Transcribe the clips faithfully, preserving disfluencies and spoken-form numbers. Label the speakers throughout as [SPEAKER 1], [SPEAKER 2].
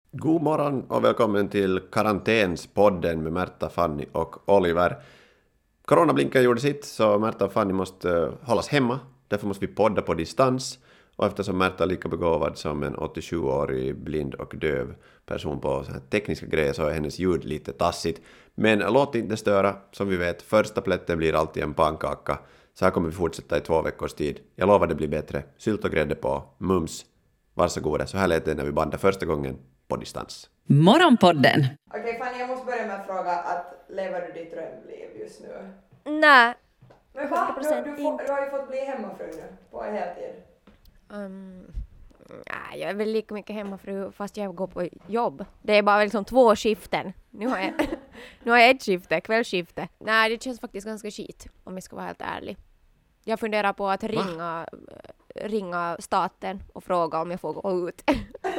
[SPEAKER 1] God morgon och välkommen till Karantänspodden med Märta, Fanny och Oliver. Coronablinken gjorde sitt, så Märta och Fanny måste hållas hemma. Därför måste vi podda på distans. Och eftersom Märta är lika begåvad som en åttiosjuårig blind och döv person på så här tekniska grejer, så är hennes ljud lite tassigt. Men låt inte störa. Som vi vet, första plätten blir alltid en pannkaka. Så här kommer vi fortsätta i två veckors tid. Jag lovar det blir bättre. Sylt och grädde på. Mums. Varsågoda. Så här lät det när vi bandade första gången på distans.
[SPEAKER 2] Morgonpodden.
[SPEAKER 3] Okej, okay, Fanny, jag måste börja med att fråga att lever du ditt drömliv just nu?
[SPEAKER 4] Nej.
[SPEAKER 3] Men va? Du, du, får, du har ju fått bli hemmafru nu på heltid.
[SPEAKER 4] Um, nej, jag är väl lika mycket hemmafru fast jag går på jobb. Det är bara liksom två skiften. Nu har jag, nu har jag ett skifte, kvällsskifte. Nej, det känns faktiskt ganska skit om jag ska vara helt ärlig. Jag funderar på att ringa, ringa staten och fråga om jag får gå ut.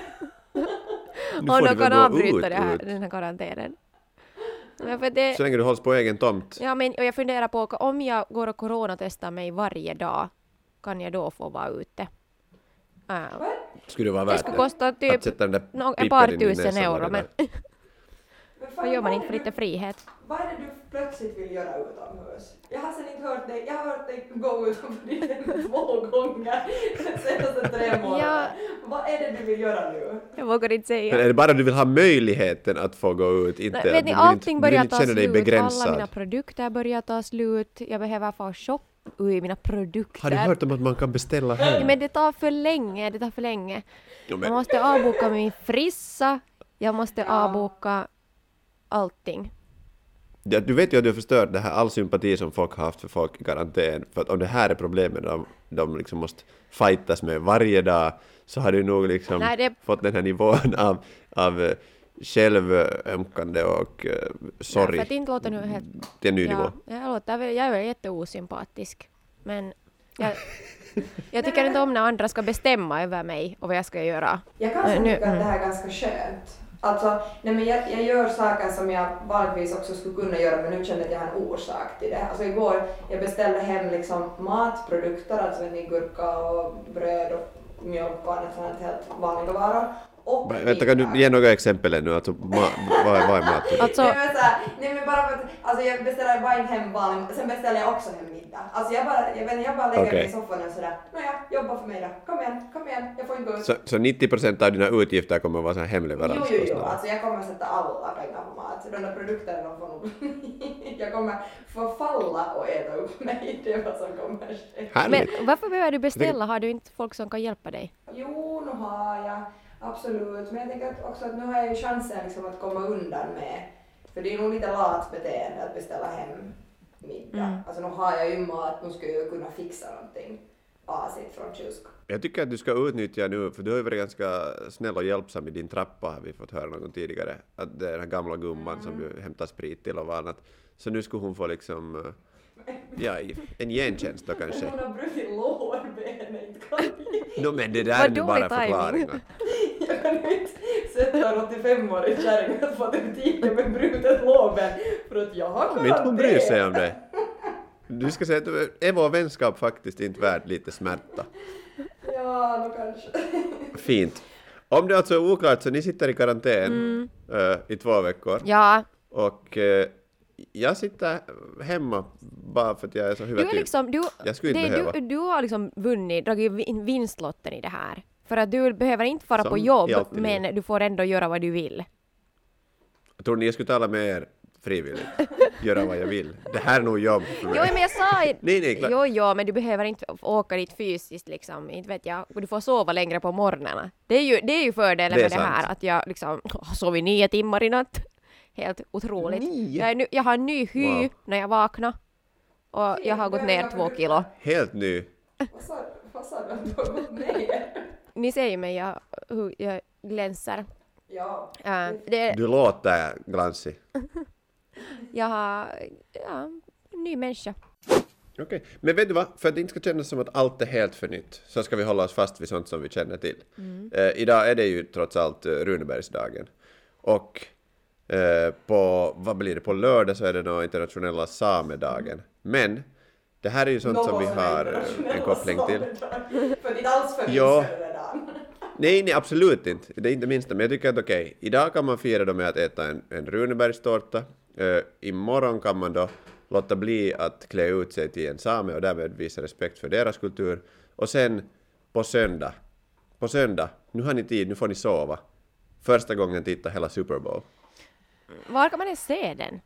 [SPEAKER 4] Och de kan avbryta det här, den här karantänen. Ja, det,
[SPEAKER 1] så länge du hålls på egen tomt.
[SPEAKER 4] Ja, men och jag funderar på om jag går och coronatestar mig varje dag, kan jag då få vara ute? Uh,
[SPEAKER 1] skulle det vara värt
[SPEAKER 4] det? skulle kosta typ no, ett par tusen euro, men vad gör man inte för lite frihet?
[SPEAKER 3] Vad är det du plötsligt vill göra utomhus? Jag har sen inte hört dig, jag har hört dig gå utomhus två gånger de senaste tre månaderna. Ja. Vad är det du vill göra nu?
[SPEAKER 4] Jag vågar inte säga.
[SPEAKER 1] Men är det bara att du vill ha möjligheten att få gå ut? Inte,
[SPEAKER 4] Nej, vet ni, allting
[SPEAKER 1] inte,
[SPEAKER 4] börjar ta slut. Alla mina produkter börjar ta slut. Jag behöver få shop i mina produkter.
[SPEAKER 1] Har du hört om att man kan beställa hem?
[SPEAKER 4] Ja, men det tar för länge, det tar för länge. Jo, men... Jag måste avboka min frissa. Jag måste ja. avboka allting.
[SPEAKER 1] Ja, du vet ju att du har förstört det här all sympati som folk har haft för folk i karantän. För att om det här är problemet de, de liksom måste fightas med varje dag, så har du nog liksom Nej, det... fått den här nivån av, av självömkande och uh, sorg. Ja,
[SPEAKER 4] för att inte låta nu helt...
[SPEAKER 1] Det är en ny
[SPEAKER 4] ja,
[SPEAKER 1] nivå.
[SPEAKER 4] Jag, låter, jag är väl jätteosympatisk. Men jag, jag tycker inte om när andra ska bestämma över mig och vad jag ska göra.
[SPEAKER 3] Jag kan uh, tycka att det här är ganska skönt. Alltså, nej men jag, jag gör saker som jag vanligtvis också skulle kunna göra, men nu känner jag att jag har en orsak till det. Alltså igår, jag beställde hem liksom matprodukter, alltså en gurka och bröd och mjölk och annat sånt helt vanliga varor. Och
[SPEAKER 1] vänta, kan du ge några exempel ännu? Alltså, ma- vad, är, vad är mat?
[SPEAKER 4] Alltså...
[SPEAKER 3] Nej, men så här, nej men bara för att, alltså jag beställer bara hem vanlig, sen beställer jag också hem middag. Alltså jag bara, jag vet inte, jag bara lägger okay. mig i soffan och sådär, nåja, jobba för mig då, kom igen, kom igen, jag får inte gå ut.
[SPEAKER 1] Så, så nittio procent av dina utgifter kommer att vara så här hemleverans?
[SPEAKER 3] Jo, jo, jo, alltså jag kommer att sätta alla pengar på mat, så de där produkterna de får nog, jag kommer förfalla och äta upp mig, det är vad som kommer ske.
[SPEAKER 4] Men varför behöver du beställa? Har du inte folk som kan hjälpa dig?
[SPEAKER 3] Jo, nu har jag. Absolut, men jag tänker också att nu har jag ju chansen liksom att komma undan med, för det är nog lite lat beteende att beställa hem middag. Mm. Alltså nu har jag ju mat, nu ska jag ju kunna fixa någonting asigt från kylskåpet.
[SPEAKER 1] Jag tycker att du ska utnyttja nu, för du har ju varit ganska snäll och hjälpsam i din trappa, har vi fått höra någon tidigare. Att det är den här gamla gumman mm. som du hämtar sprit till och annat. Så nu skulle hon få liksom, ja, en gentjänst då kanske.
[SPEAKER 3] Hon har brutit lårbenet, inte kan jag.
[SPEAKER 1] No, men det där är nu bara förklaringar.
[SPEAKER 3] Jag kan ju inte sätta en åttiofem-årig kärring att få till tiden med brutet lårben för att jag har kunnat
[SPEAKER 1] det. Men hon bryr sig om det. Du ska säga att är vår vänskap faktiskt inte värd lite smärta.
[SPEAKER 3] Ja, då kanske.
[SPEAKER 1] Fint. Om det alltså är oklart så ni sitter i karantän mm. uh, i två veckor.
[SPEAKER 4] Ja.
[SPEAKER 1] Och uh, jag sitter hemma bara för att jag är så huvudtyp.
[SPEAKER 4] Du, liksom, du,
[SPEAKER 1] jag skulle inte
[SPEAKER 4] det,
[SPEAKER 1] behöva.
[SPEAKER 4] Du, du har liksom vunnit, dragit vinstlotten i det här. För att du behöver inte fara
[SPEAKER 1] som
[SPEAKER 4] på jobb, men liv. Du får ändå göra vad du vill.
[SPEAKER 1] Jag tror ni jag skulle tala med er frivilligt. Göra vad jag vill. Det här är nog jobb för mig.
[SPEAKER 4] Jo, men jag sa
[SPEAKER 1] nej, nej, klart.
[SPEAKER 4] Jo, jo, men du behöver inte åka dit fysiskt liksom. Inte vet jag. Du får sova längre på morgnarna. Det är ju, det är ju fördelen det med sant. Det här. Att jag liksom sov nio timmar i natt. Helt otroligt. Jag, är nu, jag har en ny hy wow. när jag vaknar. Och jag har gått ner två kilo.
[SPEAKER 1] Helt ny.
[SPEAKER 3] Vad sa, vad sa du att du har gått ner?
[SPEAKER 4] Ni ser ju mig, jag, hur jag glänser.
[SPEAKER 3] Ja.
[SPEAKER 4] Uh, det...
[SPEAKER 1] Du låter glansig.
[SPEAKER 4] Jag har ja, en ny människa.
[SPEAKER 1] Okej, okay. Men vet du vad? För att det inte ska kännas som att allt är helt för nytt så ska vi hålla oss fast vid sånt som vi känner till. Mm. Uh, idag är det ju trots allt uh, Runebergsdagen. Och uh, på, vad blir det, på lördag så är det nog internationella samedagen. Men det här är ju sånt
[SPEAKER 3] Någon
[SPEAKER 1] som vi har en koppling till.
[SPEAKER 3] För det är alls för
[SPEAKER 1] ja.
[SPEAKER 3] redan.
[SPEAKER 1] Nej, nej, absolut inte. Det är inte minsta. Men jag tycker att okej, okay, idag kan man fira då med att äta en, en Runebergstårta. Uh, imorgon kan man då låta bli att klä ut sig till en same och därmed visa respekt för deras kultur. Och sen på söndag, på söndag, nu har ni tid, nu får ni sova. Första gången titta hela Super Bowl.
[SPEAKER 4] Var kan man ens se den?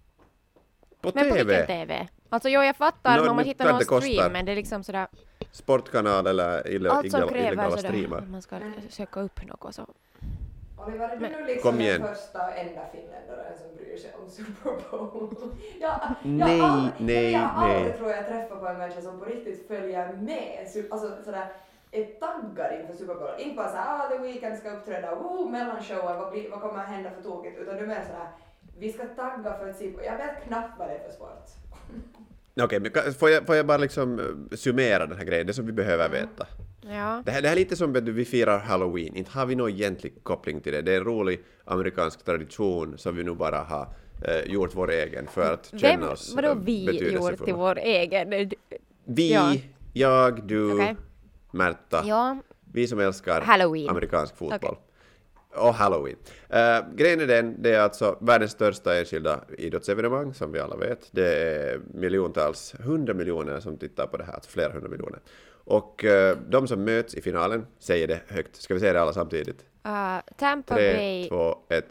[SPEAKER 1] På
[SPEAKER 4] men
[SPEAKER 1] T V.
[SPEAKER 4] på vilken T V? Alltså jo, jag fattar
[SPEAKER 1] No,
[SPEAKER 4] om man
[SPEAKER 1] nu
[SPEAKER 4] hittar
[SPEAKER 1] kan
[SPEAKER 4] någon
[SPEAKER 1] det kosta.
[SPEAKER 4] stream, men det är liksom sådär...
[SPEAKER 1] Sportkanal eller ille,
[SPEAKER 4] Allt som
[SPEAKER 1] illegala,
[SPEAKER 4] kräver
[SPEAKER 1] illegala
[SPEAKER 4] sådär,
[SPEAKER 1] streamar.
[SPEAKER 4] att man ska söka upp något så.
[SPEAKER 3] Oliver, är du
[SPEAKER 4] Men-
[SPEAKER 3] nu liksom
[SPEAKER 1] Kom igen.
[SPEAKER 3] den första och enda finländaren som bryr sig om Super Bowl? jag, jag,
[SPEAKER 1] Nej,
[SPEAKER 3] aldrig,
[SPEAKER 1] nej,
[SPEAKER 3] jag har aldrig,
[SPEAKER 1] nej.
[SPEAKER 3] tror jag, träffat på en människa som på riktigt följer med. Su- Alltså sådär, är taggad inför Super Bowl. Inte bara såhär, ah, The Weeknd ska uppträda, oh, mellanshowen, vad, blir- vad kommer att hända för tokigt? Utan du är mer sådär, vi ska tagga för att se på. Jag vet knappt vad det är för sport.
[SPEAKER 1] Okej, men kan- får jag, får jag bara liksom eh, summera den här grejen, det som vi behöver veta.
[SPEAKER 4] Ja.
[SPEAKER 1] Det här, det här är lite som att vi firar Halloween, inte har vi någon egentlig koppling till det. Det är en rolig amerikansk tradition som vi nu bara har eh, gjort vår egen för att känna
[SPEAKER 4] Vem,
[SPEAKER 1] oss
[SPEAKER 4] vadå
[SPEAKER 1] eh,
[SPEAKER 4] vi gjort
[SPEAKER 1] betydelsefulla.
[SPEAKER 4] till vår egen?
[SPEAKER 1] Vi,
[SPEAKER 4] Ja.
[SPEAKER 1] jag, du,
[SPEAKER 4] Okej.
[SPEAKER 1] Märta,
[SPEAKER 4] Ja,
[SPEAKER 1] vi som älskar
[SPEAKER 4] Halloween.
[SPEAKER 1] amerikansk fotboll. Och Halloween. Uh, grejen är den, det är alltså världens största enskilda idrottsevenemang som vi alla vet. Det är miljontals, hundra miljoner som tittar på det här, alltså flera hundra miljoner. Och uh, de som möts i finalen säger det högt. Ska vi säga det alla samtidigt?
[SPEAKER 4] uh, Tampa
[SPEAKER 1] Tre,
[SPEAKER 4] Bay,
[SPEAKER 1] två, ett.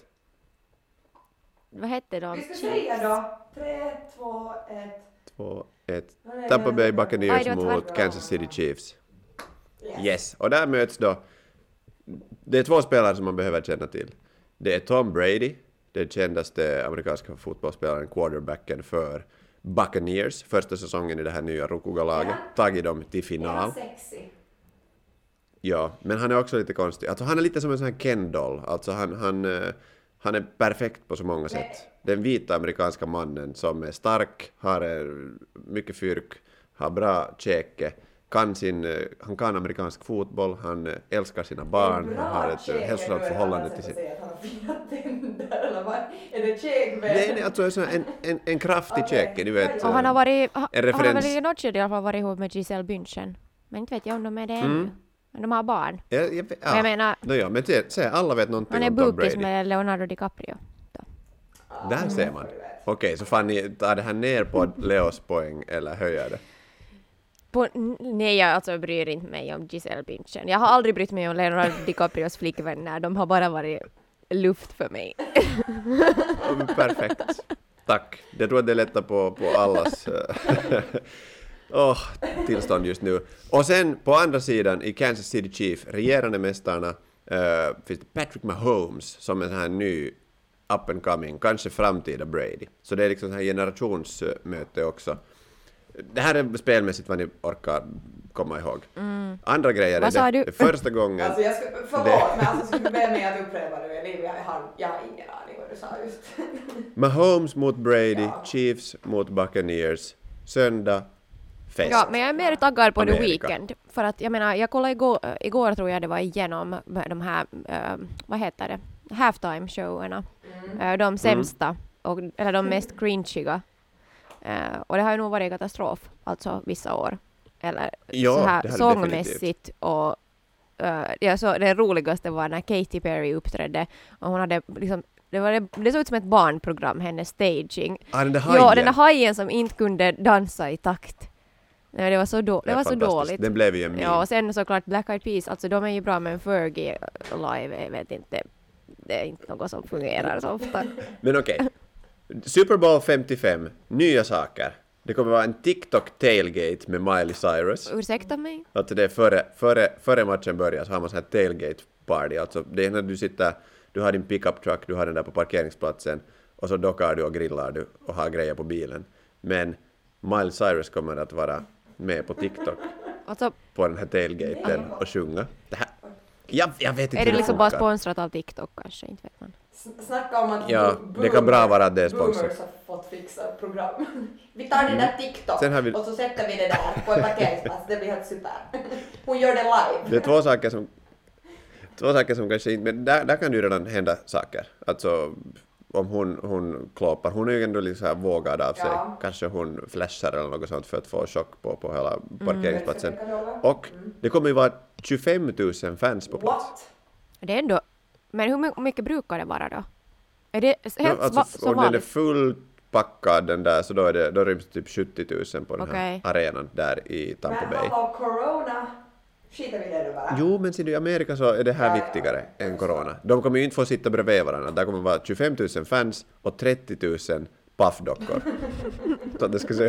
[SPEAKER 4] vad hette de?
[SPEAKER 3] Vi ska säga då, tre, två, ett.
[SPEAKER 1] Två, ett.
[SPEAKER 3] Nej,
[SPEAKER 1] Tampa Bay
[SPEAKER 4] Aj,
[SPEAKER 1] Buccaneers
[SPEAKER 4] det var
[SPEAKER 1] mot
[SPEAKER 3] tvärtom.
[SPEAKER 1] Kansas City Chiefs. Yes, och där möts då, det är två spelare som man behöver känna till. Det är Tom Brady, den kändaste amerikanska fotbollsspelaren, quarterbacken för Buccaneers, första säsongen i det här nya Rukugalaget,
[SPEAKER 3] Ja.
[SPEAKER 1] tagit dem till
[SPEAKER 3] Är
[SPEAKER 1] final.
[SPEAKER 3] han sexy?
[SPEAKER 1] Ja, men han är också lite konstig. Alltså han är lite som en sån här Ken-doll, alltså han, han, eh, han är perfekt på så många sätt. Den vita amerikanska mannen som är stark, har eh, mycket fyrk, har bra käke, kan sin, eh, han kan amerikansk fotboll, han eh, älskar sina barn, han har ett eh, hälsosamt förhållande till sin...
[SPEAKER 3] sin... Att han har fina tänder eller vad? Är det käk med?
[SPEAKER 1] Nej, nej, alltså en, sån här- en, en, en kraftig
[SPEAKER 3] Okej.
[SPEAKER 1] käke, ni vet.
[SPEAKER 4] Och han har varit, ha,
[SPEAKER 1] En
[SPEAKER 4] han har
[SPEAKER 1] referens.
[SPEAKER 4] väl i något skede i alla fall varit ihop med Giselle Bündchen. Men inte vet jag om de är det ännu.
[SPEAKER 1] Mm.
[SPEAKER 4] Men de har barn.
[SPEAKER 1] Jag, jag, vet-
[SPEAKER 4] Men jag
[SPEAKER 1] ja.
[SPEAKER 4] menar,
[SPEAKER 1] No, ja, men se, se, alla vet någonting
[SPEAKER 4] han är
[SPEAKER 1] om Tom
[SPEAKER 4] bukis
[SPEAKER 1] Brady.
[SPEAKER 4] med Leonardo DiCaprio.
[SPEAKER 1] Där ser man. Okej, så fan ni tar det här ner på Leos poäng eller höjer det?
[SPEAKER 4] På, n- nej, jag alltså bryr inte mig om Giselle Bündchen. Jag har aldrig brytt mig om Leonardo DiCaprios flickvänner. De har bara varit luft för mig.
[SPEAKER 1] Ja, men perfekt. Tack. Jag tror att det lättar på, på allas eh, oh, tillstånd just nu. Och sen på andra sidan i Kansas City Chiefs, regerande mästarna, uh, finns det Patrick Mahomes som är en här ny up and coming, kanske framtida Brady. Så det är liksom så här generationsmöte också. Det här är spelmässigt vad ni orkar komma ihåg.
[SPEAKER 4] Mm.
[SPEAKER 1] Andra grejer
[SPEAKER 4] Vad
[SPEAKER 1] är
[SPEAKER 4] sa
[SPEAKER 1] det,
[SPEAKER 4] du?
[SPEAKER 1] det första gången...
[SPEAKER 3] Alltså jag ska, förlåt,
[SPEAKER 1] Det-
[SPEAKER 3] men alltså skulle du be mig att upprepa det Liv, jag har, jag har ingen aning vad du sa just.
[SPEAKER 1] Mahomes mot Brady,
[SPEAKER 3] Ja.
[SPEAKER 1] Chiefs mot Buccaneers, söndag, fest.
[SPEAKER 4] Ja, men jag är mer taggad på The
[SPEAKER 1] Amerika.
[SPEAKER 4] Weeknd. För att jag menar, jag kollade igår, äh, igår tror jag det var igenom de här, äh, vad heter det, halftime-showerna.
[SPEAKER 3] Mm.
[SPEAKER 4] Äh, de sämsta, och, eller de mest cringiga. Äh, och det har ju nog varit katastrof, alltså vissa år. Eller
[SPEAKER 1] Ja,
[SPEAKER 4] så här
[SPEAKER 1] det har det
[SPEAKER 4] sångmässigt och uh, jag så, det roligaste var när Katy Perry uppträdde och hon hade liksom, det, var, det, det såg ut som ett barnprogram, hennes staging.
[SPEAKER 1] Ah, den där hajen.
[SPEAKER 4] Ja, den där hajen som inte kunde dansa i takt. Nej, det var så, då, det
[SPEAKER 1] är
[SPEAKER 4] var så
[SPEAKER 1] fantastiskt.
[SPEAKER 4] dåligt.
[SPEAKER 1] Den blev ju en meme.
[SPEAKER 4] Ja, och sen såklart Black Eyed Peas, alltså de är ju bra, men Fergie live, jag vet inte, det är inte något som fungerar så ofta.
[SPEAKER 1] Men okej. Super Bowl femtiofem, nya saker. Det kommer vara en TikTok tailgate med Miley Cyrus.
[SPEAKER 4] Ursäkta mig?
[SPEAKER 1] Alltså det är före, före, före matchen börjar så har man så här tailgate party. Alltså det är när du sitter, du har din pickup truck, du har den där på parkeringsplatsen och så dockar du och grillar du och har grejer på bilen. Men Miley Cyrus kommer att vara med på TikTok
[SPEAKER 4] Alltså,
[SPEAKER 1] på den här tailgaten och sjunga. Det här, jag, jag vet inte
[SPEAKER 4] är
[SPEAKER 1] hur
[SPEAKER 4] det liksom bara
[SPEAKER 1] funkar.
[SPEAKER 4] sponsrat av TikTok kanske, inte vet man.
[SPEAKER 3] S- Snacka om att
[SPEAKER 1] Ja,
[SPEAKER 3] bo-
[SPEAKER 1] det kan bra vara att det är sponsor.
[SPEAKER 3] boomers har fått fixa program. Vi tar det där TikTok
[SPEAKER 1] Sen har vi-
[SPEAKER 3] och så sätter vi det där på en parkeringsplats. Det blir helt super. Hon gör det live.
[SPEAKER 1] Det är två saker som två saker som kanske inte, men där, där kan det ju redan hända saker. Alltså om hon, hon klåpar, hon är ju ändå lite så här vågad av sig.
[SPEAKER 3] Ja.
[SPEAKER 1] Kanske hon flashar eller något sånt för att få chock på, på hela parkeringsplatsen.
[SPEAKER 3] Mm.
[SPEAKER 1] Och det kommer ju vara tjugofem tusen fans på plats.
[SPEAKER 3] What?
[SPEAKER 4] Det är ändå... Men hur my- mycket brukar det vara då? Är det helt
[SPEAKER 1] No, alltså,
[SPEAKER 4] va- som
[SPEAKER 1] om den är
[SPEAKER 4] vanligt?
[SPEAKER 1] fullpackad den där så då, är det, då ryms typ sjuttio tusen på den här
[SPEAKER 4] Okej.
[SPEAKER 1] arenan där i Tampa
[SPEAKER 3] Men
[SPEAKER 1] Bay.
[SPEAKER 3] hallå, corona, skiter vi det nu bara.
[SPEAKER 1] Jo, men ser du, i Amerika så är det här
[SPEAKER 3] Ja, ja.
[SPEAKER 1] viktigare än corona. De kommer ju inte få sitta bredvid varandra. Där kommer vara tjugofem tusen fans och trettio tusen puffdockor. Så det ska se.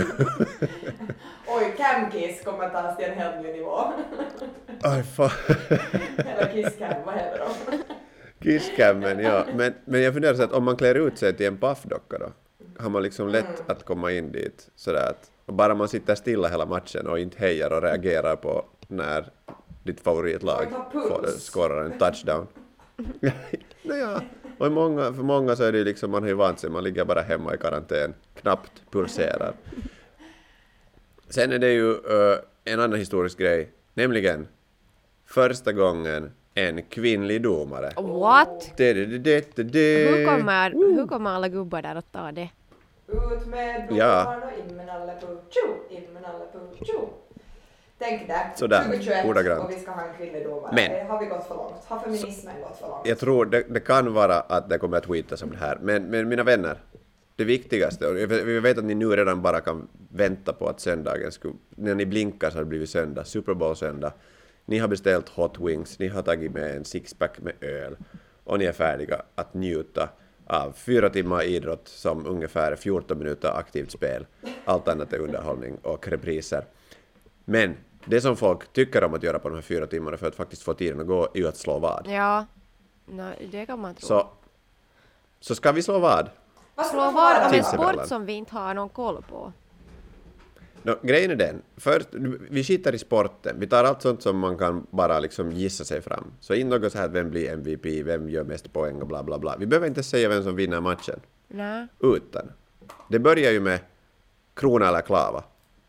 [SPEAKER 3] Oj, Camkiss kommer tas till en helt ny nivå.
[SPEAKER 1] Aj, fan.
[SPEAKER 3] Eller Kisscam, vad heter de?
[SPEAKER 1] Kisscammen, ja. Men, men jag funderar så att om man klär ut sig till en puffdocka då, har man liksom lätt att komma in dit sådär att bara man sitter stilla hela matchen och inte hejar och reagerar på när ditt favoritlag
[SPEAKER 3] Och ta puls.
[SPEAKER 1] får, skårar en touchdown. Naja, och i många, för många så är det ju liksom, man har ju vant sig, man ligger bara hemma i karantän, knappt pulserar. Sen är det ju uh, en annan historisk grej, nämligen första gången en kvinnlig domare.
[SPEAKER 4] What?
[SPEAKER 1] Det, det, det, det, det.
[SPEAKER 4] Hur kommer, hur kommer alla gubbar där att ta det?
[SPEAKER 3] Ut med
[SPEAKER 1] Ja.
[SPEAKER 3] domaren och in med Nalle Puh, in med Nalle Puh. Tänk där,
[SPEAKER 1] Sådär,
[SPEAKER 3] tjugohundratjugoett
[SPEAKER 1] ordagrant.
[SPEAKER 3] och vi ska ha en kvinnlig domare.
[SPEAKER 1] Men-
[SPEAKER 3] Det har vi gått för långt? Har feminismen gått för långt?
[SPEAKER 1] Jag tror det, det kan vara att det kommer att tweetas om det här, men, men mina vänner, det viktigaste, och vi vet att ni nu redan bara kan vänta på att söndagen skulle, när ni blinkar så har det blivit söndag, Super Bowl söndag, ni har beställt hot wings, ni har tagit med en sixpack med öl och ni är färdiga att njuta av fyra timmar idrott som ungefär fjorton minuter aktivt spel, allt annat är underhållning och repriser. Men det som folk tycker om att göra på de här fyra timmarna för att faktiskt få tiden att gå är ju att slå vad.
[SPEAKER 4] Ja, no, det kan man tro.
[SPEAKER 1] Så, så ska vi slå vad?
[SPEAKER 3] Vad ska
[SPEAKER 4] Slå
[SPEAKER 3] man få
[SPEAKER 4] vad
[SPEAKER 3] höra
[SPEAKER 4] om en
[SPEAKER 3] då?
[SPEAKER 1] Sinsemellan.
[SPEAKER 4] sport som vi inte har någon koll på.
[SPEAKER 1] No, grejen är den, först, vi skiter i sporten, vi tar allt sånt som man kan bara liksom gissa sig fram. Så in något så här, vem blir M V P, vem gör mest poäng och bla bla bla. Vi behöver inte säga vem som vinner matchen,
[SPEAKER 4] Nej.
[SPEAKER 1] utan det börjar ju med krona eller klava.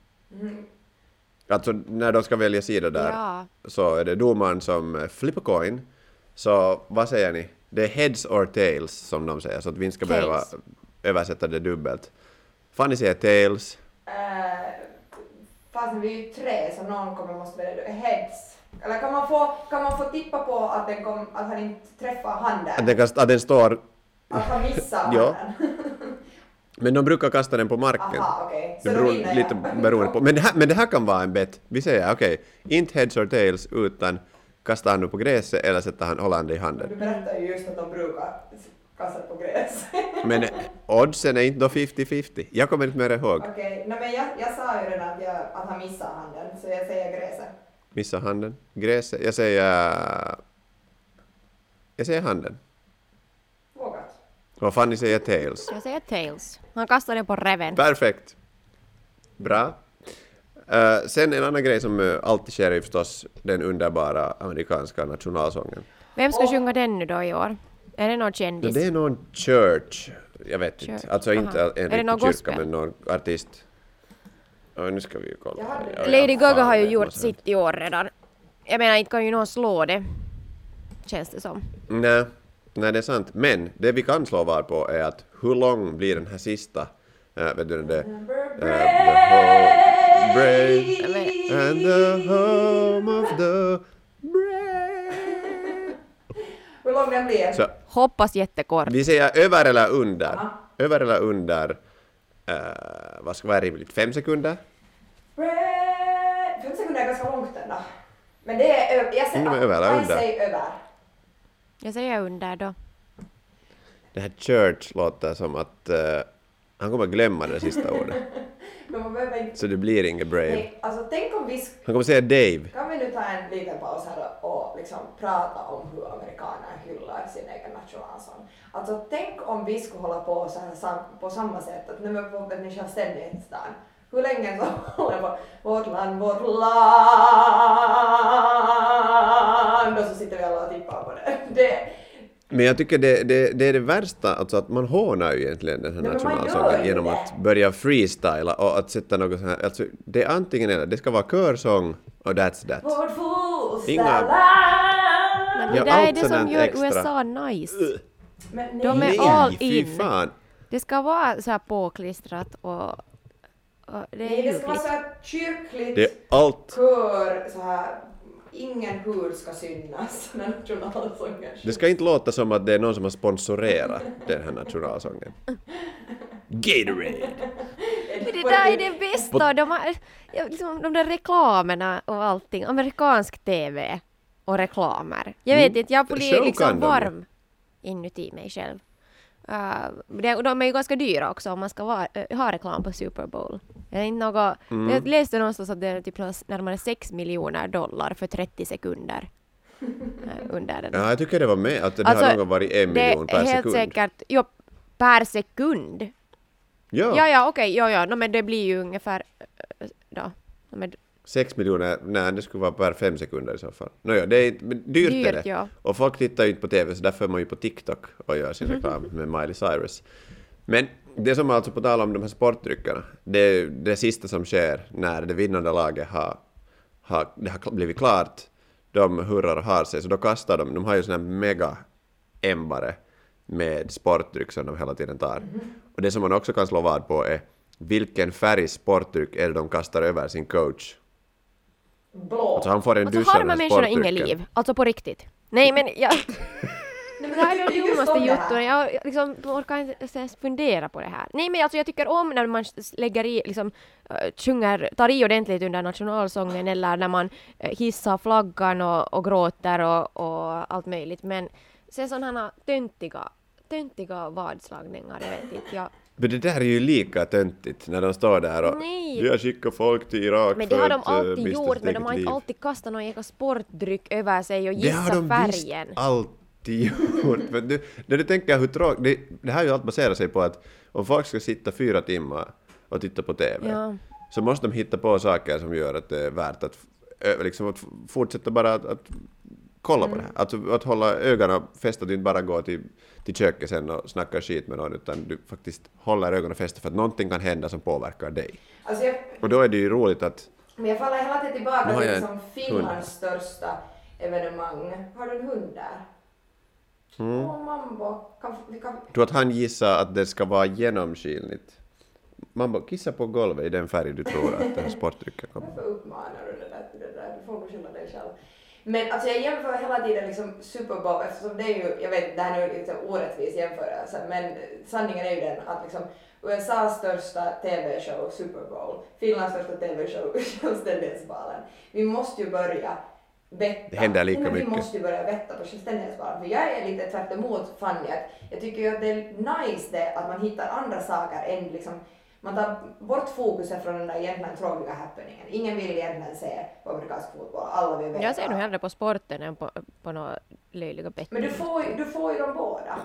[SPEAKER 1] Alltså när de ska välja sida där
[SPEAKER 4] Ja.
[SPEAKER 1] så är det domaren som flippar coin. Så vad säger ni? Det är heads or tails som de säger, så att vi inte ska
[SPEAKER 4] Tails.
[SPEAKER 1] behöva översätta det dubbelt. Fanny säger tails.
[SPEAKER 3] Eh, fast vi är ju tre så någon kommer måste välja heads. Eller kan man få, kan man få tippa på att, den kom, att han inte träffar handen?
[SPEAKER 1] Att den, kast, att den står...
[SPEAKER 3] Att han missar
[SPEAKER 1] Ja.
[SPEAKER 3] handen?
[SPEAKER 1] Men de brukar kasta den på marken.
[SPEAKER 3] Aha, okej. Så
[SPEAKER 1] Det
[SPEAKER 3] då
[SPEAKER 1] beror
[SPEAKER 3] vinner
[SPEAKER 1] lite
[SPEAKER 3] jag.
[SPEAKER 1] beroende på. Men det, här, men det här kan vara en bet. Vi säger okej, inte heads or tails utan kastar han nu på gräset eller sätter han, håller han det i handen.
[SPEAKER 3] Du berättade ju just att de brukar kasta på gräs.
[SPEAKER 1] Men oddsen är inte då femtio femtio. Jag kommer inte mer ihåg.
[SPEAKER 3] Okej, nej men jag, jag sa ju redan att, jag, att han missar handen, så jag säger gräset.
[SPEAKER 1] Missa handen. Gräset. Jag säger... Jag säger handen.
[SPEAKER 3] Vågat.
[SPEAKER 1] Vad fan ni säger tails.
[SPEAKER 4] Jag säger tails. Han kastar det på reven.
[SPEAKER 1] Perfekt. Bra. Uh, sen en annan grej som uh, alltid sker är förstås den underbara amerikanska nationalsången.
[SPEAKER 4] Vem ska
[SPEAKER 3] Åh.
[SPEAKER 4] sjunga den nu då i år? Är det någon
[SPEAKER 1] No,
[SPEAKER 4] kändis?
[SPEAKER 1] det är någon church. Jag vet
[SPEAKER 4] Church,
[SPEAKER 1] inte. Alltså
[SPEAKER 4] aha.
[SPEAKER 1] inte en
[SPEAKER 4] Är det någon
[SPEAKER 1] riktig kyrka
[SPEAKER 4] gospel?
[SPEAKER 1] men någon artist. Oh, nu ska vi ju kolla.
[SPEAKER 3] Jag hade-
[SPEAKER 1] Ja, ja,
[SPEAKER 4] Lady
[SPEAKER 1] fan,
[SPEAKER 4] Gaga har ju
[SPEAKER 1] det
[SPEAKER 4] gjort
[SPEAKER 1] måste-
[SPEAKER 4] sitt i år redan. Jag menar, inte kan ju någon slå det. Känns det som.
[SPEAKER 1] Nej, nej, det är sant. Men det vi kan slå var på är att hur lång blir den här sista? Uh, vet du det? Uh, the whole brave and the home of the brave.
[SPEAKER 3] Hur lång den blir?
[SPEAKER 1] Så
[SPEAKER 4] Hoppas jättekort.
[SPEAKER 1] vi säger över eller under.
[SPEAKER 3] Aha.
[SPEAKER 1] Över eller under. Uh, vad ska vara rimligt? Fem sekunder?
[SPEAKER 3] Fem sekunder är ganska långt ändå. Men det är över. Jag säger,
[SPEAKER 1] Mm, över eller
[SPEAKER 3] jag
[SPEAKER 1] under?
[SPEAKER 3] säger över.
[SPEAKER 4] Jag säger under då.
[SPEAKER 1] Det här church låter som att uh, han kommer glömma det sista ordet.
[SPEAKER 3] Men man behöver inte...
[SPEAKER 1] Så det blir inget brave.
[SPEAKER 3] Nej, alltså tänk om vi... sk-
[SPEAKER 1] Han kommer säga Dave.
[SPEAKER 3] Kan vi nu ta en liten paus här och liksom prata om hur amerikaner hyllar sin egen nationalsång. Alltså tänk om vi skulle hålla på så här sam, på samma sätt att nu är vi på en självständighetsdagen. Hur länge så håller på vårt land, vårt land och så sitter vi alla och tippar på det. det
[SPEAKER 1] Men jag tycker det, det, det är det värsta, alltså att man hånar ju egentligen den här
[SPEAKER 3] Ja, men man gör
[SPEAKER 1] nationalsången
[SPEAKER 3] ju
[SPEAKER 1] genom
[SPEAKER 3] det.
[SPEAKER 1] att börja freestyla och att sätta något sånt här, alltså det är antingen eller, det ska vara körsång och that's that.
[SPEAKER 3] vårt fosterland.
[SPEAKER 1] Inga-
[SPEAKER 4] Men
[SPEAKER 1] Ja,
[SPEAKER 4] det där är
[SPEAKER 1] allt
[SPEAKER 4] det som
[SPEAKER 1] sådant
[SPEAKER 4] gör
[SPEAKER 1] extra.
[SPEAKER 4] U S A nice.
[SPEAKER 3] Men
[SPEAKER 4] De är
[SPEAKER 3] nej.
[SPEAKER 4] all
[SPEAKER 1] fy
[SPEAKER 4] in.
[SPEAKER 1] fan.
[SPEAKER 4] Det ska vara så här påklistrat och, och det är
[SPEAKER 3] Nej, det ska vara
[SPEAKER 4] ljuvligt.
[SPEAKER 3] så här kyrkligt.
[SPEAKER 1] Det är allt.
[SPEAKER 3] Kör så här ingen hud ska synas när nationalsången.
[SPEAKER 1] Det ska inte låta som att det är någon som har sponsorerat den här nationalsången. Gatorade!
[SPEAKER 4] Men det där är det bästa. De, har, ja, liksom, de där reklamerna och allting. Amerikansk tv och reklamer. Jag vet inte, jag blir
[SPEAKER 1] Show
[SPEAKER 4] liksom
[SPEAKER 1] kan de.
[SPEAKER 4] varm inuti mig själv. Uh, det, och de är ju ganska dyra också om man ska vara, uh, ha reklam på Super Bowl. Jag, inte något,
[SPEAKER 1] Mm.
[SPEAKER 4] jag läste någonstans att det är typ närmare sex miljoner dollar för trettio sekunder. Uh, under den.
[SPEAKER 1] Ja, jag tycker det var med att det
[SPEAKER 4] Alltså,
[SPEAKER 1] har någon varit en miljon
[SPEAKER 4] det
[SPEAKER 1] per
[SPEAKER 4] är helt
[SPEAKER 1] sekund.
[SPEAKER 4] säkert, jo, per sekund.
[SPEAKER 1] Ja,
[SPEAKER 4] Ja, ja, okej, ja, ja, no, men det blir ju ungefär, uh, då, no, men,
[SPEAKER 1] sex miljoner, nej det skulle vara per fem sekunder i så fall. Nåja, det är men dyrt,
[SPEAKER 4] Dyrt,
[SPEAKER 1] är det.
[SPEAKER 4] ja.
[SPEAKER 1] Och folk tittar ju inte på tv så därför är man ju på TikTok och gör sin reklam med Miley Cyrus. Men det som alltså på tal om de här sportdryckerna, det är det sista som sker när det vinnande laget har, har, det har blivit klart, de hurrar och har sig, så då kastar de, de har ju sån här mega ämbare med sportdryck som de hela tiden tar. Och det som man också kan slå vad på är vilken färg sportdryck är det de kastar över sin coach.
[SPEAKER 3] Blå.
[SPEAKER 1] Alltså han får en
[SPEAKER 4] och så
[SPEAKER 1] duscha
[SPEAKER 4] har de här
[SPEAKER 1] med
[SPEAKER 4] människorna inget
[SPEAKER 1] sportdrycken.
[SPEAKER 4] liv, alltså på riktigt. Nej, men jag,
[SPEAKER 3] Nej, men
[SPEAKER 4] det här är
[SPEAKER 3] jag
[SPEAKER 4] det
[SPEAKER 3] tycker just
[SPEAKER 4] dummaste
[SPEAKER 3] om det här.
[SPEAKER 4] jutton. Jag liksom, orkar inte ens fundera på det här. Nej, men alltså jag tycker om när man lägger i, liksom, uh, sjunger, tar i ordentligt under nationalsången eller när man uh, hissar flaggan och, och gråter och, och allt möjligt. Men sen sådana töntiga, töntiga vadslagningar, jag vet inte. Jag,
[SPEAKER 1] Men det där är ju lika töntigt när de står där och
[SPEAKER 4] Nej.
[SPEAKER 1] vi har skickat folk till Irak
[SPEAKER 4] men det
[SPEAKER 1] för
[SPEAKER 4] har de
[SPEAKER 1] att, eh,
[SPEAKER 4] alltid
[SPEAKER 1] mista
[SPEAKER 4] gjort,
[SPEAKER 1] sitt
[SPEAKER 4] men de
[SPEAKER 1] eget
[SPEAKER 4] har inte
[SPEAKER 1] liv.
[SPEAKER 4] alltid kastat någon egen sportdryck över sig och
[SPEAKER 1] Det har
[SPEAKER 4] gissat
[SPEAKER 1] de
[SPEAKER 4] färgen.
[SPEAKER 1] visst alltid gjort. För du, när du tänker hur tråkigt, det, det här är ju allt baserar sig på att om folk ska sitta fyra timmar och titta på tv
[SPEAKER 4] Ja.
[SPEAKER 1] så måste de hitta på saker som gör att det är värt att, ö, liksom, att fortsätta bara att, att kolla
[SPEAKER 4] Mm.
[SPEAKER 1] på det här. Alltså att hålla ögonen fästa, att du inte bara går till, till köket sen och snackar skit med någon utan du faktiskt håller ögonen fästa för att någonting kan hända som påverkar dig.
[SPEAKER 3] Alltså jag,
[SPEAKER 1] Och då är det ju roligt att
[SPEAKER 3] men jag faller hela tiden
[SPEAKER 1] Nu
[SPEAKER 3] tillbaka
[SPEAKER 1] har
[SPEAKER 3] till
[SPEAKER 1] jag
[SPEAKER 3] liksom
[SPEAKER 1] en
[SPEAKER 3] Finlands största evenemang. Har du en hund där?
[SPEAKER 1] Mm.
[SPEAKER 3] Åh, mambo. Kan, vi kan...
[SPEAKER 1] tror att han gissar att det ska vara genomskinligt. Man bara kissa på golvet i den färg du tror att den här sportdrycken kommer.
[SPEAKER 3] Varför uppmanar du det där till det där? Du får nog skylla dig själv. Men alltså jag jämför hela tiden liksom Super Bowl eftersom det är ju, jag vet det här är ju lite orättvis jämförelse men sanningen är ju den att liksom U S A:s största tv-show Super Bowl, Finlands största tv-show Självständighetsvalen. Vi måste ju börja vetta.
[SPEAKER 1] Det händer lika
[SPEAKER 3] Nej, men
[SPEAKER 1] mycket.
[SPEAKER 3] Vi måste ju börja vetta på Självständighetsvalen för jag är lite tvärt emot Fanny att jag tycker ju att det är nice det att man hittar andra saker än liksom man tar bort fokuset från den där egentligen tråkiga happeningen. Ingen vill egentligen se på amerikansk fotboll. Alla vill veta.
[SPEAKER 4] Jag ser nog hellre på sporten än på, på några löjliga betting.
[SPEAKER 3] Men du får, ju- du får ju dem båda.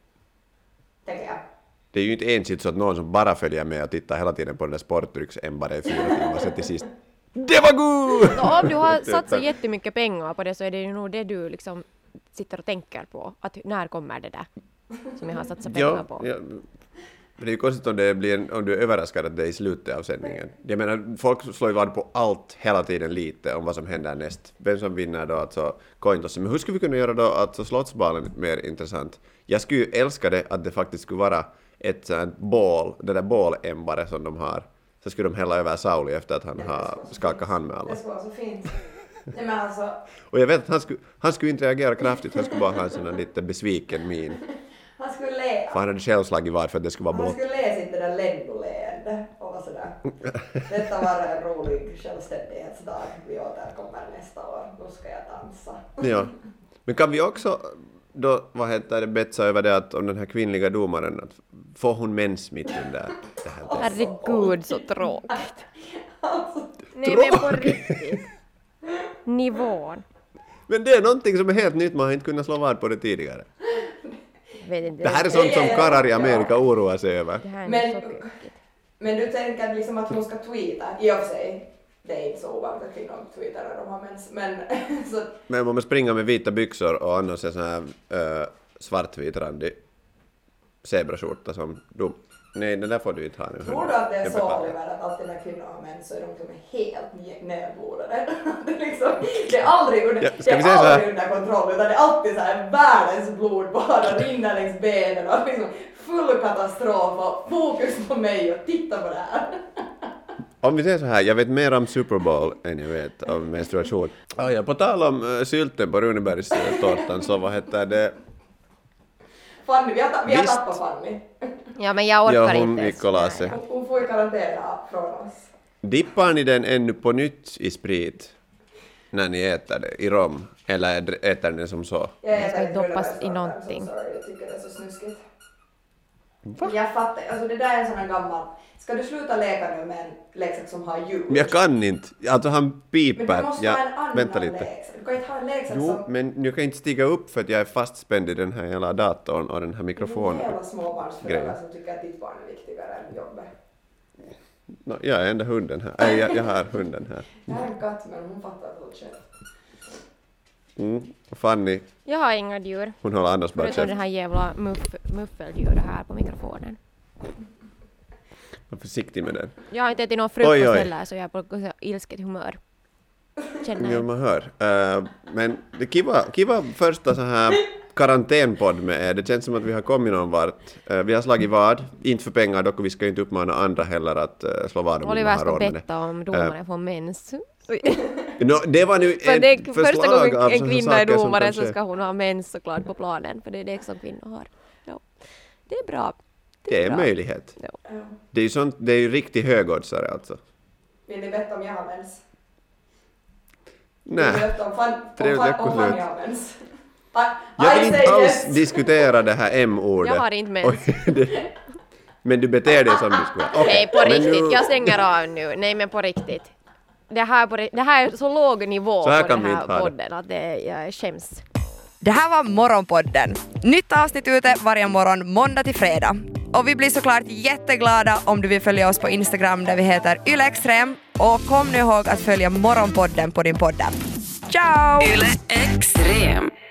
[SPEAKER 3] Tänker jag.
[SPEAKER 1] Det är ju inte ensidigt så att någon som bara följer med och tittar hela tiden på den där sportdrycksämbaren i fyra timmar så till sist det var god!
[SPEAKER 4] Så om du har satsat jättemycket pengar på det så är det ju nog det du liksom sitter och tänker på. Att när kommer det där som jag har satsat pengar
[SPEAKER 1] Ja,
[SPEAKER 4] på.
[SPEAKER 1] ja. Men det är ju konstigt om, det blir en, om du är överraskad att det är i slutet av sändningen. Jag menar, folk slår ju vad på allt hela tiden lite om vad som händer näst. Vem som vinner då, alltså cointossen. Men hur skulle vi kunna göra då alltså Slottsbalen mer intressant? Jag skulle ju älska det att det faktiskt skulle vara ett sånt bål, det där bålämbare som de har. Så skulle de hälla över Sauli efter att han
[SPEAKER 3] Det
[SPEAKER 1] har
[SPEAKER 3] skulle vara så
[SPEAKER 1] skakat
[SPEAKER 3] fint.
[SPEAKER 1] hand med alla.
[SPEAKER 3] Det skulle vara så fint. Nej men alltså,
[SPEAKER 1] Och jag vet att han skulle, han skulle inte reagera kraftigt, han skulle bara ha en sån här lite besviken min.
[SPEAKER 3] han skulle le.
[SPEAKER 1] För han hade själv slagit vad för att det skulle vara
[SPEAKER 3] Han
[SPEAKER 1] blått.
[SPEAKER 3] skulle le sitt det där Lendo-leende och vara sådär. Detta var en rolig självständighetsdag. Vi återkommer nästa år. Då ska jag dansa.
[SPEAKER 1] Ja. Men kan vi också då, vad heter det, betsa över det att om den här kvinnliga domaren, att får hon mens mitt under det här?
[SPEAKER 4] Herregud så tråkigt.
[SPEAKER 3] Alltså,
[SPEAKER 4] Nej men på riktigt. Nivån.
[SPEAKER 1] Men det är någonting som är helt nytt, man har inte kunnat slå vad på det tidigare.
[SPEAKER 4] Vet inte.
[SPEAKER 1] Det här är sånt som karlar i Amerika oroar sig över.
[SPEAKER 4] Det här är
[SPEAKER 3] Men-
[SPEAKER 4] så tråkigt.
[SPEAKER 3] men du tänker liksom att hon ska tweeta. I och för sig, det är inte så ovanligt att kvinnor tweetar när de har mens. Men så,
[SPEAKER 1] Men om man springer med vita byxor och annars en sån här äh, svartvit randig zebraskjorta som dom. Nej, den där får du inte ha nu.
[SPEAKER 3] tror du att det är
[SPEAKER 1] Jag
[SPEAKER 3] så
[SPEAKER 1] beklagar.
[SPEAKER 3] Oliver att alltid när kvinnor har mens så är de liksom helt nedblodade? Det är liksom, det är aldrig under,
[SPEAKER 1] Ja,
[SPEAKER 3] det
[SPEAKER 1] ska vi
[SPEAKER 3] är
[SPEAKER 1] säga så här?
[SPEAKER 3] aldrig under kontroll utan det är alltid så här världens blod bara rinner längs benen och liksom full katastrof och fokus på mig och titta på det här.
[SPEAKER 1] Om vi säger så här, jag vet mer om Super Bowl än jag vet om menstruation. Ah, ja, på tal om uh, sylten på Runebergs uh, tårtan så vad heter det?
[SPEAKER 3] Fanny, vi har, ta- vi har
[SPEAKER 1] Visst.
[SPEAKER 3] tappat Fanny.
[SPEAKER 4] Ja, men jag orkar
[SPEAKER 1] Ja, hon
[SPEAKER 4] inte.
[SPEAKER 1] gick och la sig.
[SPEAKER 3] Hon, hon får ju karantän från oss.
[SPEAKER 1] Dippar ni den ännu på nytt i sprit när ni äter det i rom? Eller äter ni det som så?
[SPEAKER 3] Jag
[SPEAKER 4] Det ska
[SPEAKER 3] äter
[SPEAKER 4] doppas
[SPEAKER 3] Runebergs
[SPEAKER 4] i
[SPEAKER 3] tårta,
[SPEAKER 4] någonting.
[SPEAKER 3] så sorry, jag tycker det är så snuskigt.
[SPEAKER 1] Va?
[SPEAKER 3] Jag fattar, alltså det där är en sån här gammal... Ska du sluta leka nu med en leksak som har ljud?
[SPEAKER 1] Men jag kan inte. Alltså han
[SPEAKER 3] Men
[SPEAKER 1] piper.
[SPEAKER 3] du måste
[SPEAKER 1] Ja,
[SPEAKER 3] ha en annan
[SPEAKER 1] vänta lite.
[SPEAKER 3] leksak. Du kan inte ha en leksak
[SPEAKER 1] Jo,
[SPEAKER 3] som...
[SPEAKER 1] men jag kan inte stiga upp för att jag är fastspänd i den här hela datorn och den här
[SPEAKER 3] Det
[SPEAKER 1] mikrofonen.
[SPEAKER 3] är jävla småbarnsföräldrar
[SPEAKER 1] grejen.
[SPEAKER 3] som tycker att ditt barn är viktigare än jobbet.
[SPEAKER 1] No, jag är enda hunden här. Nej, jag, jag har hunden här.
[SPEAKER 3] Jag har en katt men hon fattar fullt själv.
[SPEAKER 1] Mm. Och Fanny,
[SPEAKER 4] Jag har inga djur.
[SPEAKER 1] hon håller annars bara
[SPEAKER 4] Förutom det
[SPEAKER 1] käft.
[SPEAKER 4] här jävla muff, muffeldjuret här på mikrofonen.
[SPEAKER 1] Var försiktig med den.
[SPEAKER 4] Jag har inte ätit någon
[SPEAKER 1] Oj,
[SPEAKER 4] frukost
[SPEAKER 1] oj.
[SPEAKER 4] heller så jag är på så ilsket humör. Känner
[SPEAKER 1] Ja,
[SPEAKER 4] jag.
[SPEAKER 1] man hör. Uh, men det kiva, kiva första så här karantänpodd med er. Det känns som att vi har kommit någon vart. Uh, vi har slagit vad. Inte för pengar dock och vi ska inte uppmana andra heller att uh, slå vad om
[SPEAKER 4] Oliver
[SPEAKER 1] man har
[SPEAKER 4] ska
[SPEAKER 1] råd med det.
[SPEAKER 4] betta om domaren får mens.
[SPEAKER 1] No, det var nu
[SPEAKER 4] För det är
[SPEAKER 1] ett
[SPEAKER 4] första
[SPEAKER 1] förslag
[SPEAKER 4] gången
[SPEAKER 1] av
[SPEAKER 4] en
[SPEAKER 1] såna
[SPEAKER 4] kvinna är
[SPEAKER 1] saker som
[SPEAKER 4] domare så
[SPEAKER 1] kanske-
[SPEAKER 4] ska hon ha mens såklart på planen. För det är det som kvinnor har. Ja. Det är bra.
[SPEAKER 1] Det är en
[SPEAKER 4] bra.
[SPEAKER 1] möjlighet.
[SPEAKER 4] Ja.
[SPEAKER 3] Ja.
[SPEAKER 1] Det är ju sånt, det är ju riktigt högoddsare alltså.
[SPEAKER 3] Vill ni veta om jag har mens? Vill
[SPEAKER 1] Nej.
[SPEAKER 3] ni veta om Fan- om
[SPEAKER 1] Trevligt
[SPEAKER 3] Fan- om
[SPEAKER 1] veckoslut.
[SPEAKER 3] Fanny har mens? I,
[SPEAKER 1] Jag
[SPEAKER 3] I
[SPEAKER 1] vill
[SPEAKER 3] say
[SPEAKER 1] inte alls
[SPEAKER 3] yes.
[SPEAKER 1] diskutera det här M-ordet.
[SPEAKER 4] Jag har inte mens.
[SPEAKER 1] Oj, det- Men du beter dig som du skulle. Okej,
[SPEAKER 4] Nej, på
[SPEAKER 1] men
[SPEAKER 4] riktigt.
[SPEAKER 1] nu-
[SPEAKER 4] Jag stänger av nu. Nej, men på riktigt. Det här, på, ri- det här är så låg nivå
[SPEAKER 1] Så här
[SPEAKER 4] på
[SPEAKER 1] kan
[SPEAKER 4] den
[SPEAKER 1] vi
[SPEAKER 4] här
[SPEAKER 1] inte ha det.
[SPEAKER 4] podden att det, jag skäms.
[SPEAKER 2] Det här var Morgonpodden. Nytt avsnitt ute varje morgon måndag till fredag. Och vi blir såklart jätteglada om du vill följa oss på Instagram där vi heter ylextrem. Och kom nu ihåg att följa Morgonpodden på din poddapp. Ciao!
[SPEAKER 5] Yle Extrem.